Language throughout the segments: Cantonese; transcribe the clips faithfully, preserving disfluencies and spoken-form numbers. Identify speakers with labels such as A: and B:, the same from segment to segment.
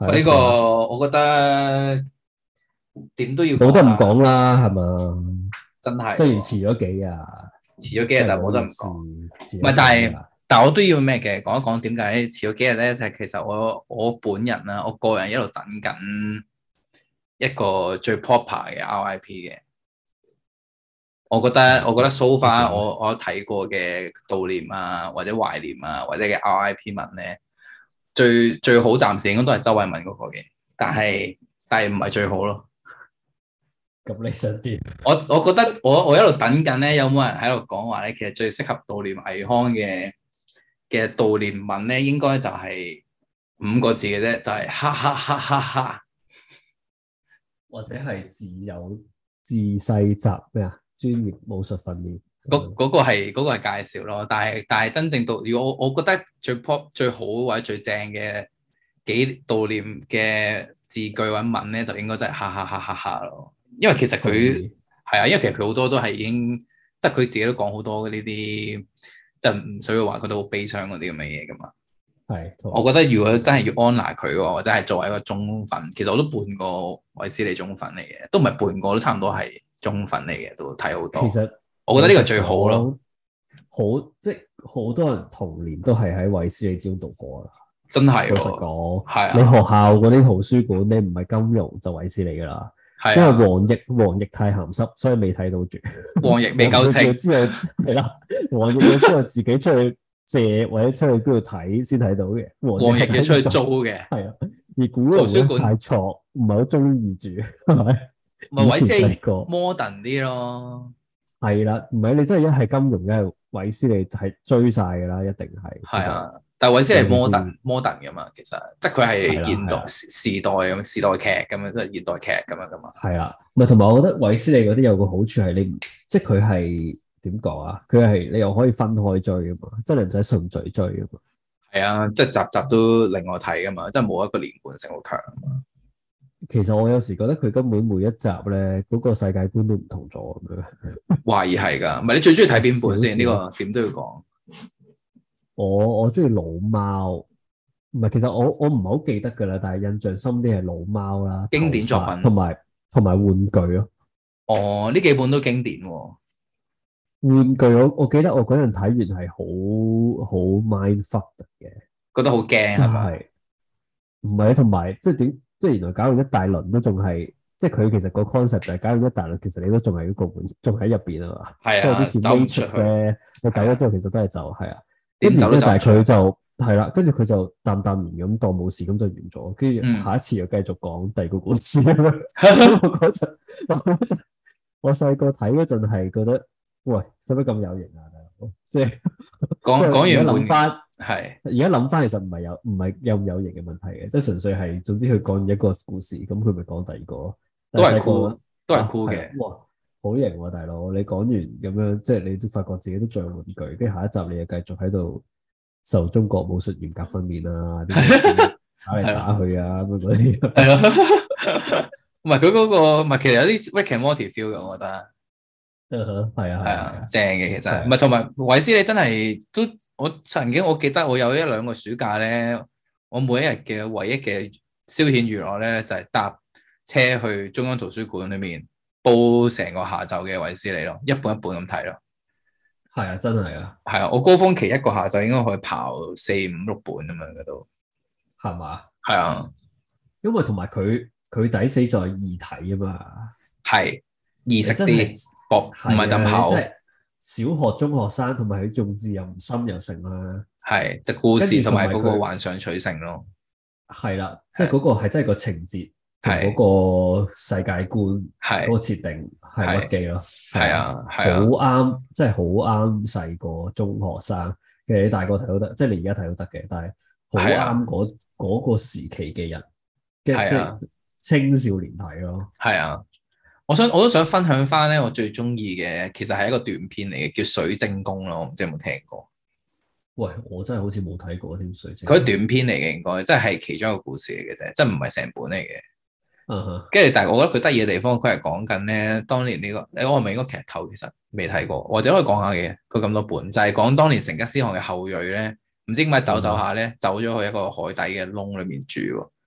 A: 我呢個我覺得點都要
B: 冇得唔講啦，係嘛？
A: 真係，
B: 雖然遲咗幾日，
A: 遲咗幾日，但係冇得唔講。唔係，但係但係我都要咩嘅？講一講點解遲咗幾日咧？就係其實我我本人啦，我個人一路等緊一個最 proper 嘅 R I P 嘅。我覺得我覺得 so far 我我睇過嘅悼念啊，或者懷念啊，或者嘅 R I P 文咧，最最好暫時應該都係周慧敏嗰個嘅，但係但係唔係最好咯。
B: 咁你想點？
A: 我我覺得我我一路等緊咧，有冇人喺度講話咧？其實最適合悼念倪匡嘅嘅悼念文咧，應該就係五個字嘅啫，就係哈哈哈哈哈，
B: 或者係自有自細習咩啊？專業武術訓練
A: 嗰嗰個係嗰個係介紹咯，但係但係真正到如果我我覺得最 pop 最好或者最正嘅幾悼念嘅字句或者文咧，就應該真係哈哈哈哈哈咯。因為其實佢係啊，因為其實佢好多都係已經即係佢自己都講好多呢啲，即係唔需要話佢都好悲傷嗰啲咁嘅嘢噶嘛。
B: 係，
A: 我覺得如果真係要安撫佢嘅，或者係作為一個忠粉，其實我都半個衛斯理忠粉嚟嘅，都唔係半個，都差唔多係忠粉嚟嘅，都睇好多。
B: 其實
A: 我覺得呢個最好咯。
B: 好即係好多人童年都係喺衛斯理之中度過啦。
A: 真係，
B: 老實講，
A: 係啊。
B: 你學校嗰啲圖書館，你唔係金融就衛斯理噶啦。
A: 係啊。
B: 因為黃奕黃奕太鹹濕，所以未睇到住。
A: 黃奕未夠清。
B: 之後係啦，黃奕要之後自己出去借或者出去邊度睇先睇到嘅。
A: 黃奕要出去租嘅。
B: 係啊。而古龍咧太錯，唔係好中意住，係咪？
A: 唔係衛斯理 modern 啲咯。
B: 係啦，唔係你真係一係金融，一係衛斯理係追晒噶啦，一定係。
A: 係啊，但係衛斯理係 modern modern 噶嘛，其實即係佢係現代時代咁時代劇咁樣，即係現代劇咁樣噶嘛。
B: 係啦，唔係同埋我覺得衛斯理嗰啲有個好處係你唔，即係佢係點講啊？佢係你又可以分開追噶嘛，即係你唔使順序追噶嘛。
A: 係啊，即係集集都另外睇噶嘛，即係冇一個連貫性好強啊嘛。
B: 其實我有時覺得佢根本每一集咧，嗰個世界觀都唔同咗咁樣。
A: 懷疑係㗎，唔係你最中意睇邊本先？呢個點都要講。
B: 我我中意老貓，唔係其實我我唔係好記得㗎啦，但係印象深啲係老貓啦，
A: 經典作品，
B: 同埋同埋玩具咯。
A: 哦，呢幾本都經典喎。
B: 玩具我我記得我嗰陣睇完係好好 mindfuck 嘅，
A: 覺得好驚係咪？
B: 唔係，同埋即係點？即係原來搞完一大輪都仲係，即係佢其實個 concept 就係搞完一大輪，其實你都仲係嗰個門，仲喺入邊啊嘛。
A: 係啊，
B: 即係有啲似 Matrix 咧，你走咗之後其實都係走，係啊。跟住
A: 之後，
B: 但係佢就係啦，跟住佢就淡淡然咁當冇事咁就完咗，跟住下一次又繼續講第二個故事咁樣。我嗰陣，我嗰陣，我細個睇嗰陣係覺得，喂，使乜咁有型啊？即係
A: 講講完
B: 諗翻。
A: 係，
B: 而家諗翻，其實唔係有唔係有唔有型嘅問題嘅，即係純粹係，總之佢講一個故事，咁佢咪講第二個咯。
A: 都係酷，都係酷嘅。
B: 哇，好型喎，大佬！你講完咁樣，即係你都發覺自己都像玩具，跟住下一集你又繼續喺度受中國武術嚴格訓練啊，打嚟打去啊咁嗰啲。
A: 係咯，唔係佢嗰個，唔係其實有啲 Rick and Morty feel 嘅，我覺得。
B: 嗯，係啊，
A: 係啊，正嘅其實，唔係同埋衛斯理真係都，我曾經我記得我有一兩個暑假咧，我每一日嘅唯一嘅消遣娛樂咧就係搭車去中央圖書館裏面煲成個下晝嘅衛斯理咯，一本一本咁睇咯。
B: 係啊，真係啊。
A: 係啊，我高峰期一個下晝應該可以刨四五六本咁樣嘅都。
B: 係嘛？
A: 係啊，
B: 因為同埋佢佢抵死在易睇啊嘛。
A: 係易識啲。唔係咁厚，
B: 即係小學中學生，同埋佢用字又唔深又成啦。
A: 係即係故事同埋嗰個幻想取勝咯。
B: 係啦，即係嗰個係真係個情節同嗰個世界觀嗰個設定係屈機咯。
A: 係啊，係啊，
B: 好啱，即係好啱細個中學生。其實你大個睇都得，即係你而家睇都得嘅，但係好啱嗰嗰個時期嘅人，即係青少年睇咯。
A: 係啊。我想我都想分享翻咧，我最中意嘅其實係一個短片嚟嘅，叫《水晶宮》咯，我唔知有冇聽過。
B: 喂，我真係好似冇睇過添，水晶宮。
A: 佢短片嚟嘅，應該即係其中一個故事嚟嘅啫，即係唔係成本嚟嘅。
B: 嗯哼。
A: 跟住，但係我覺得佢得意嘅地方，佢係講緊咧當年呢、這個，你我係咪應該劇透？其實未睇過，或者可以講下嘅。佢咁多本就係、是、講當年成吉思汗嘅後裔咧，唔知點解走走下咧，走咗去一個海底嘅窿裏面住。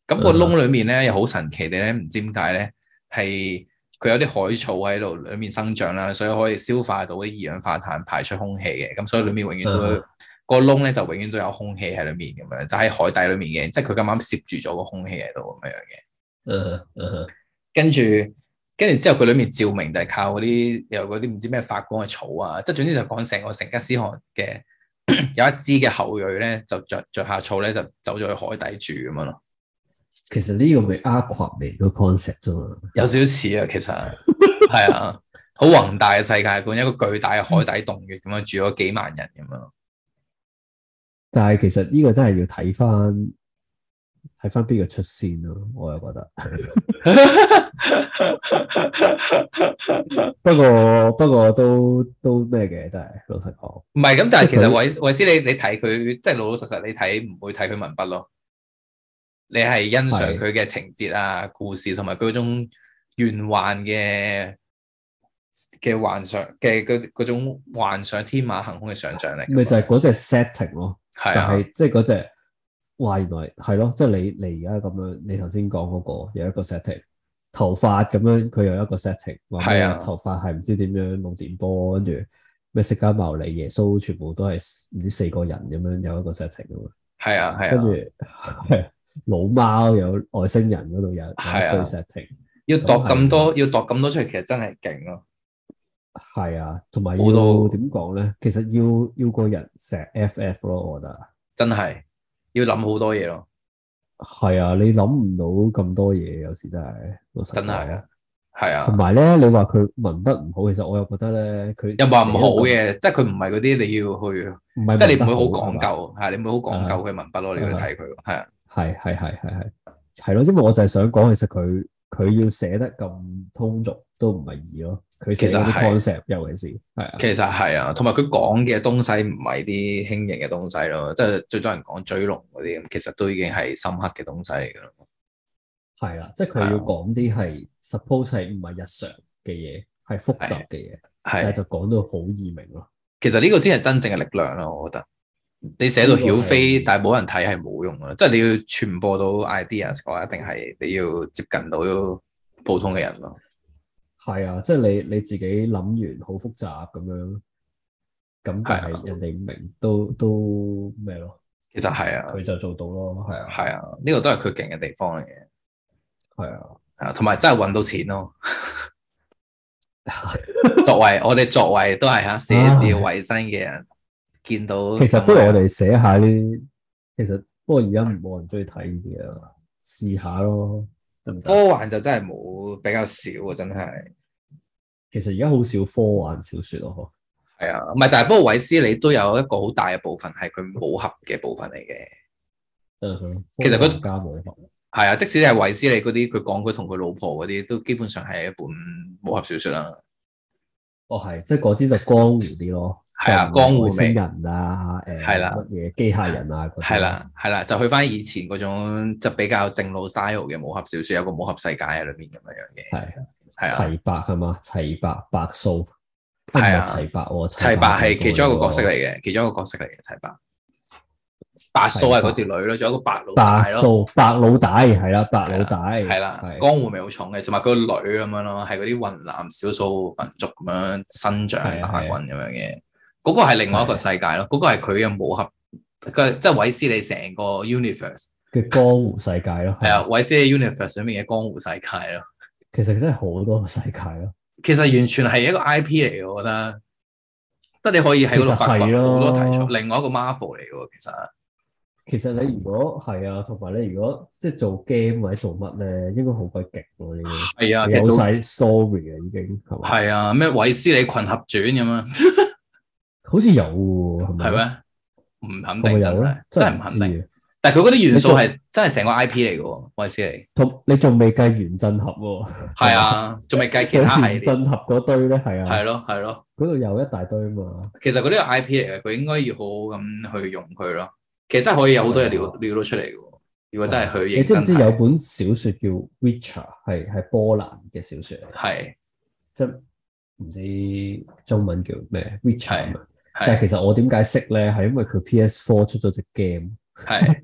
A: 咁個窿裏面咧又好神奇地咧，唔知點解咧係佢有啲海草喺度裏面生長啦，所以可以消化到啲二氧化碳排出空氣嘅，咁所以裏面永遠都、uh huh. 個窿咧就永遠都有空氣喺裏面咁樣，就喺海底裏面嘅，即係佢咁啱攝住咗個空氣喺度咁樣嘅。
B: Uh huh.
A: 跟住跟住之後佢裏面照明就係靠嗰啲有嗰啲唔知咩發光嘅草啊，即係總之就講成個成吉思汗嘅有一支嘅後裔咧就着着下草咧就走咗去海底住咁樣咯。
B: 其實呢個咪 Aquaman 個 concept 啫嘛，
A: 有少少似啊，其實係啊，好宏大嘅世界觀，一個巨大嘅海底洞穴咁樣住咗幾萬人咁樣。
B: 但係其實呢個真係要睇翻睇翻邊個出先咯，我又覺得。不過不過都都咩嘅，真係老實講。
A: 唔係咁，但係其實韋韋斯你你睇佢即係老老實實，你睇唔會睇佢文筆咯。你係欣賞佢嘅情節啊、的故事同埋佢嗰種玄幻嘅嘅幻想嘅嗰嗰種幻想天馬行空嘅想像力。
B: 咪就係嗰隻 setting 咯，
A: 的
B: 就係即係嗰隻話原來係咯，即係你你而家咁樣，你頭先講嗰個有一個 setting， 頭髮咁樣佢有一個 setting， 話咩頭髮係唔知點樣弄電波，跟住咩釋迦牟尼耶穌全部都係唔知四個人咁樣有一個 setting 啊嘛。
A: 係啊係啊，
B: 跟住係。老貓有外星人嗰度有係啊 setting，
A: 要度咁多要度咁多出嚟，其實真係勁咯。係
B: 啊，同埋要點講咧？其實要要個人成 F F 咯，我覺得
A: 真係要諗好多嘢咯。
B: 係啊，你諗唔到咁多嘢，有時真係
A: 真係啊，係啊。
B: 同埋咧，你話佢文筆唔好，其實我又覺得咧，佢
A: 又話唔好嘅，即係佢唔係嗰啲你要去，唔係即係你唔會好講究，係你唔會好講究佢文筆咯。你要睇佢，係啊。
B: 係係係係係係咯，因為我就係想講，其實佢佢要寫得咁通俗都唔係易咯。佢寫啲 concept，尤其是係啊，其實
A: 係啊，同埋佢講嘅東西唔係啲輕盈嘅東西咯，即係最多人講追龍嗰啲，其實都已經係深刻嘅東西嚟噶咯。
B: 係啊，即係佢要講啲係 suppose 係唔係日常嘅嘢，係複雜嘅嘢，但係就講到好易明咯。
A: 其實呢個先係真正嘅力量咯，我覺得。你寫到曉飛，但係冇人睇係冇用噶，即係你要傳播到 ideas 嘅話，一定係你要接近到普通嘅人咯。
B: 係啊，即係你你自己諗完好複雜咁樣，咁但係人哋唔明都都咩咯？
A: 其實係啊，
B: 佢就做到咯，係啊，
A: 係啊，呢個都係佢勁嘅地方嚟嘅。
B: 係啊，
A: 啊，同埋真係搵到錢咯。作為我哋作為都係吓寫字為生嘅人。見到
B: 其實不如我哋寫下呢啲，其實不過而家冇人中意睇呢啲啊，試下咯。
A: 科幻就真係冇，比較少啊，真係。
B: 其實而家好少科幻小說咯，
A: 係啊，唔係，但係不過韋斯理都有一個好大嘅部分係佢武俠嘅部分嚟嘅。
B: 嗯哼，
A: 其實佢
B: 加武俠
A: 係啊，即使係韋斯理嗰啲，佢講佢同佢老婆嗰啲，都基本上係一本武俠小說啦。
B: 哦，係，即係嗰啲就江湖啲咯。
A: 係啊，江湖味
B: 人啊，誒，係啦，乜嘢機械人啊，
A: 係啦，係啦，就去翻以前嗰種就比較正路 style 嘅武俠小說，有個武俠世界喺裏邊咁樣樣嘅。係係啊，齊白係嘛？齊白白素係啊，齊白喎，齊白係其中一個角色嚟嘅，其中一個角色嚟嘅齊白。白素係嗰條女咯，仲有一個白老大咯。
B: 白素白老大係啦，白老大
A: 係啦，江湖味好重嘅，同埋佢個女咁樣咯，係嗰啲雲南少數民族咁樣生長打滾咁樣嘅。嗰個係另外一個世界咯，嗰個係佢嘅武俠，佢即係韋斯理成個 universe
B: 嘅江湖世界咯。
A: 係啊，韋斯理 universe 上面嘅江湖世界咯。
B: 其實真係好多世界咯。
A: 其實完全係一個 I P 嚟嘅，我覺得，即係你可以喺嗰度發掘好多題材。另外一個 Marvel 嚟嘅，其實。其實
B: 你如果係啊，同埋你如果即係做 game 或者做乜咧，應該好鬼極喎呢啲。係啊，有晒 story 啊，已經係嘛？
A: 係啊，咩韋斯理群俠傳咁啊？
B: 好似有喎，係咪？
A: 係咩？唔肯定，真係真係唔肯定。但係佢嗰啲元素係真係成個 I P 嚟嘅喎，韋斯理。同
B: 你仲未計原振俠喎？
A: 係啊，仲未計其他
B: 原振俠嗰堆咧，係啊。
A: 係咯，係咯。
B: 嗰度有一大堆啊嘛。
A: 其實嗰啲係 I P 嚟嘅，佢應該要好好咁去用佢咯。其實真係可以有好多嘢料料到出嚟嘅。如果真係去，
B: 你知唔知有本小說叫《Witcher》，係係波蘭嘅小說嚟。
A: 係。即係
B: 唔知中文叫咩 Witcher 但係其實我點解識咧？係因為佢 P S 四出咗隻 game，
A: 係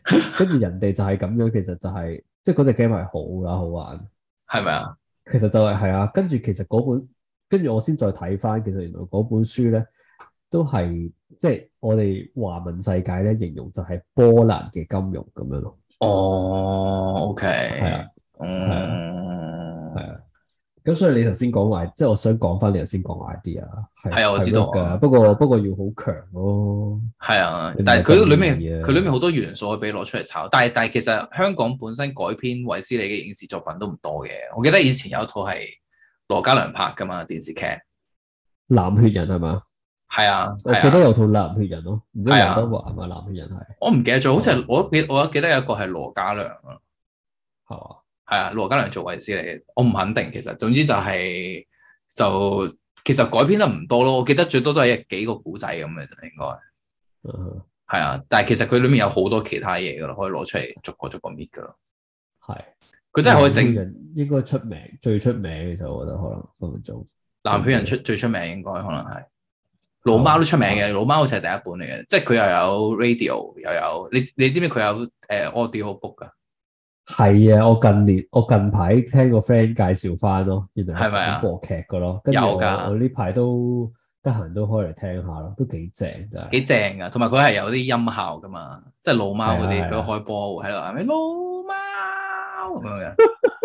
B: 跟住人哋就係咁樣，其實就係即係嗰隻 game 係好啦，好玩，
A: 係咪啊？
B: 其實就係係啊，跟住其實嗰本，跟住我先再睇翻，其實原來嗰本書咧都係即係我哋華文世界咧形容就係波蘭嘅金融咁樣咯。
A: 哦，OK，
B: 係啊，
A: 嗯，
B: 係啊，係啊。咁所以你頭先講話，即係我想講翻你頭先講 idea，係
A: 係啊，我知道
B: 㗎，不過不過要好強咯。
A: 係啊，
B: 你唔係
A: 但係佢裏
B: 咁
A: 面
B: 易啊
A: 佢裏面好多元素可以俾攞出嚟炒，但係但係其實香港本身改編衛斯理嘅影視作品都唔多嘅。我記得以前有一套係羅嘉良拍噶嘛電視劇，
B: 藍血人係嘛？
A: 係啊，
B: 我記得有套藍血人咯，唔知劉
A: 係啊
B: 德華係咪藍血人係？
A: 我唔記得咗，好似係我記我記得有一個係羅嘉良啊，
B: 係嘛？
A: 係啊，羅嘉良做衛斯理，我唔肯定其實，總之就係、就其實改編得唔多咯，我記得最多都係幾個古仔咁嘅啫，應該
B: 嗯，
A: 係啊，但係其實佢裏面有好多其他嘢噶咯，可以攞出嚟逐個逐個搣噶咯，
B: 係。
A: 佢真係可以整
B: 藍血人應該出名，最出名嘅就我覺得可能分分鐘。
A: 藍血人出最出名應該可能係老貓都出名嘅，老貓好似係第一本嚟嘅，即係佢又有 radio 又有你你知唔知佢有誒 audio book 噶？
B: 係啊，我近年我近排聽個 friend 介紹翻咯，原來
A: 係咪啊
B: 廣播劇噶咯，跟住我
A: 有㗎
B: 我呢排都得閒都開嚟聽下咯，都幾正真係。
A: 幾正噶，同埋佢係有啲音效噶嘛，即係老貓嗰啲，
B: 係啊係啊
A: 佢開波喺度係咪老貓咁樣嘅，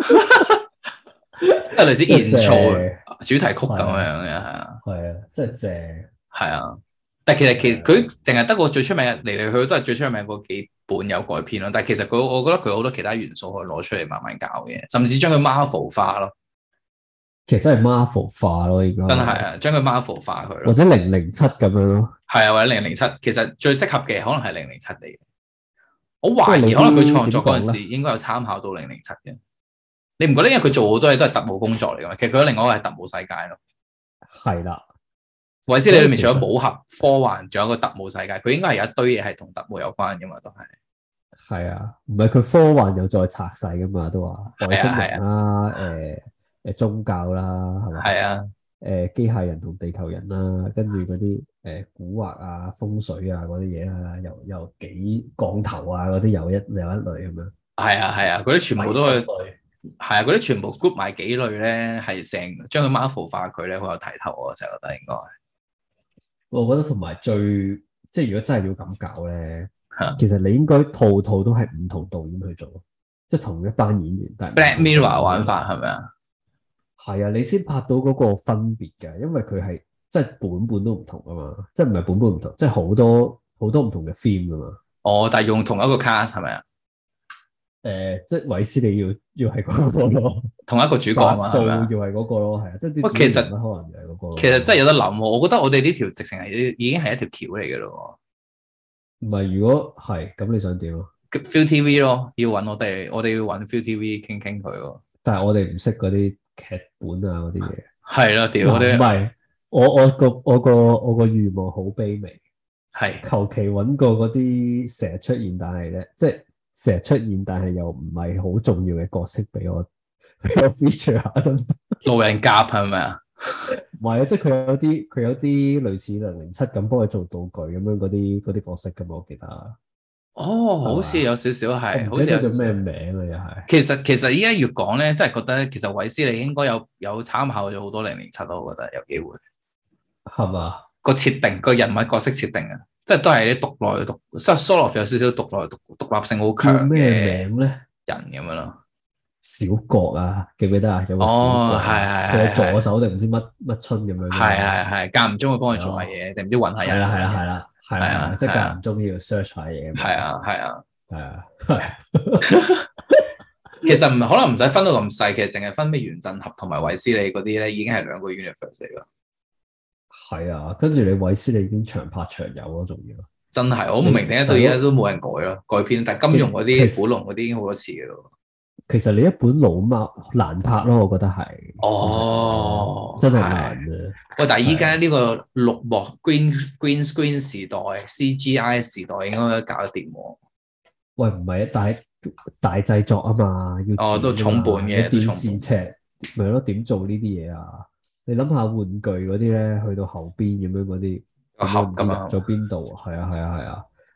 A: 即係類似演奏主題曲咁樣嘅，係啊，
B: 係啊，真係正。
A: 係啊。但係其實其實佢淨係得個最出名嘅嚟嚟去去都係最出名嗰幾本有改編咯。但係其實佢我覺得佢好多其他元素可以攞出嚟慢慢搞嘅，甚至將佢 Marvel 化咯。
B: 其實真係 Marvel 化咯，應該
A: 真係啊，將佢 Marvel 化佢咯。
B: 或者零零七咁樣咯。
A: 係啊，或者零零七，其實最適合嘅可能係零零七嚟嘅。我懷疑可能佢創作嗰陣時應該有參考到零零七嘅。你唔覺得？因為佢做好多嘢都係特務工作嚟㗎嘛。其實佢另外一個係特務世界咯。係
B: 啦。
A: 衛斯理裏面除咗武俠、科幻，仲有一個特務世界，佢應該係有一堆嘢係同特務有關嘅嘛，都係。
B: 係啊，唔係佢科幻又再拆細噶嘛，都話外星人啦，誒誒、呃、宗教啦，係咪？
A: 係啊。
B: 誒機械人同地球人啦，跟住嗰啲誒古惑啊、風水啊嗰啲嘢啦，又又幾降頭啊嗰啲，有一有一類咁樣。係
A: 啊係啊，嗰啲全部都係。係啊，嗰啲全部 group 埋幾類咧，係成將佢 Marvel 化佢咧，好有睇頭啊！我成日覺得應該。
B: 我覺得同埋最即係如果真係要咁搞咧，
A: 啊、
B: 其實你應該套套都係唔同導演去做，即係同一班演員。但
A: Black Mirror 玩法係咪啊？
B: 係啊，你先拍到嗰個分別㗎，因為佢係即係本本都唔同啊嘛，即係唔係本本唔同，即係好多好多唔同嘅 theme 㗎嘛。
A: 哦，但係用同一個 cast 係咪啊？
B: 誒、呃，即係韋斯利要要係嗰個咯，
A: 同一個主角啊嘛，係咪啊？
B: 要係嗰個咯，係啊，即係啲
A: 其實
B: 可能就係嗰個。
A: 其實真係有得諗喎，我覺得我哋呢條直情係已經係一條橋嚟嘅咯。
B: 唔係，如果係咁，你想點啊
A: ？ViuTV 咯，要揾我哋，我哋要揾 ViuTV 傾傾佢喎。
B: 但係我哋唔識嗰啲劇本啊，嗰啲嘢。
A: 係啦，屌我哋。
B: 唔係，我我個我個我個願望好卑微，
A: 係
B: 求其揾個嗰啲成日出現，但係咧，即係。成日出現，但係又唔係好重要嘅角色俾我俾我 feature 下得唔得？
A: 路人甲係咪啊？
B: 唔係啊，即係佢有啲佢有啲類似零零七咁幫佢做道具咁樣嗰啲嗰啲角色噶嘛，我記得。
A: 哦，好似有少少係，好似
B: 有叫咩名啊？又係。
A: 其實其實依家越講咧，真係覺得其實韋斯利應該有有參考咗好多零零七咯，我覺得有機會。
B: 係嘛？
A: 個設定個人物角色設定啊！即係都係啲獨來獨，即係 Solo 有少少獨來獨獨立性好強嘅
B: 名咧
A: 人咁樣咯。
B: 小國啊，記唔記得啊？有個小國，
A: 係係
B: 係佢助手定唔知乜乜春咁樣。
A: 係係係，間唔中會幫佢做下嘢，定唔知揾下人。
B: 係啦係啦係啦係啦，即係間唔中要 search 下嘢。
A: 係啊係啊
B: 係啊係。
A: 其實唔可能唔使分到咁細，其實淨係分咩原振俠同埋衛斯理嗰啲咧，已經係兩個 universe 嚟㗎。
B: 係啊，跟住你韋斯利已經長拍長有咯，仲要
A: 真係我唔明點解到而家都冇人改咯，改編。但係金庸嗰啲、古龍嗰啲已經好多次嘅咯。
B: 其實你一本老貓難拍咯，我覺得係。
A: 哦，
B: 真係難啊！
A: 喂，但係依家呢個綠幕 green green screen 時代、C G I 時代應該搞得掂喎。
B: 喂，唔係啊，大大製作啊嘛，要
A: 哦都重本嘅
B: 電視劇咪咯，點做呢啲嘢啊？你諗下玩具嗰啲咧，去到後邊咁樣嗰啲，
A: 個盒咁
B: 入咗邊度？係啊係啊係啊！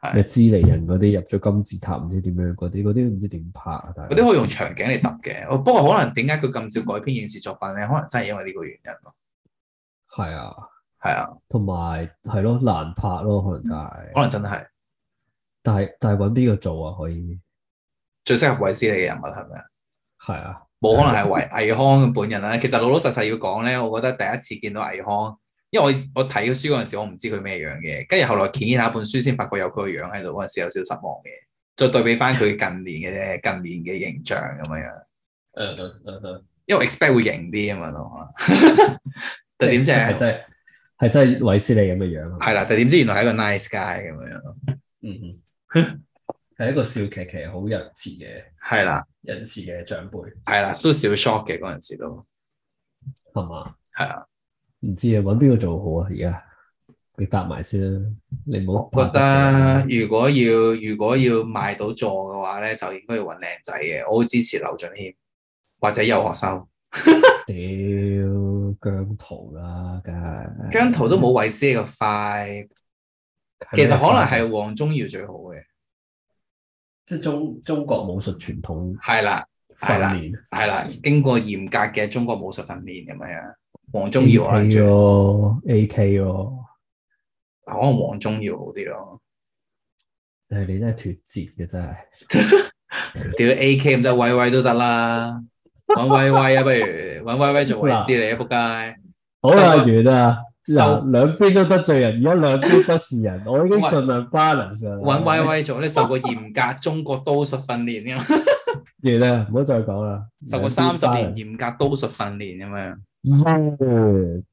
B: 咩知尼人嗰啲入咗金字塔唔知點樣嗰啲，嗰啲唔知點拍啊！但係
A: 嗰啲可以用場景嚟揼嘅，不過可能點解佢咁少改編影視作品咧？可能真係因為呢個原因咯。
B: 係啊，
A: 係啊，
B: 同埋係咯難拍咯，可能真係。
A: 可能真係。
B: 但係但係揾邊個做啊？可以
A: 最適合衛斯理嘅人物係咪啊？
B: 係啊，
A: 冇可能係魏魏康本人啦。其實老老實實要講咧，我覺得第一次見到魏康，因為我我睇個書嗰陣時，我唔知佢咩樣嘅，跟住後來揭下本書先發覺有佢個樣喺度，嗰陣時有少少失望嘅。再對比翻佢近年嘅啫，近年嘅形象咁樣樣。
B: 嗯嗯嗯嗯，
A: 因為 expect 會型啲啊嘛咯。但點知係
B: 真係係真係衛斯理咁嘅樣。
A: 係啦，但點知原來係一個 nice guy 咁樣咯。
B: 嗯嗯，係一個笑騎騎好仁慈嘅，
A: 係啦，
B: 仁慈嘅長輩。
A: 係啦，都少 shock 嘅嗰陣時都
B: 係嘛？
A: 係啊，
B: 唔知啊，揾邊個做好啊？而家你答埋先啦，你唔好
A: 我覺得如果要如果要賣到座嘅話咧，就應該要揾靚仔嘅。我好支持劉俊謙或者游學修。
B: 屌姜濤啦，梗係
A: 姜濤都冇衛斯理個快，其實可能係黃宗耀最好嘅，
B: 即係中中國武術傳統
A: 係啦係啦係啦，經過嚴格嘅中國武術訓練咁樣。黃宗耀可能最
B: 咯 ，A K 咯，
A: 可能黃宗耀好啲咯。
B: 誒，你真係脫節嘅真係，
A: 屌 A K 咁就威威都得啦，揾威威啊，不如揾威威做衛斯理啊，仆街！
B: 好啦，完啦，嗱，兩邊都得罪人，而家兩邊不是人，我已經盡量 balance 啦。
A: 揾威威做，你受過嚴格中國刀術訓練㗎嘛？
B: 完啦，唔好再講啦。
A: 受過三十年嚴格刀術訓練咁樣。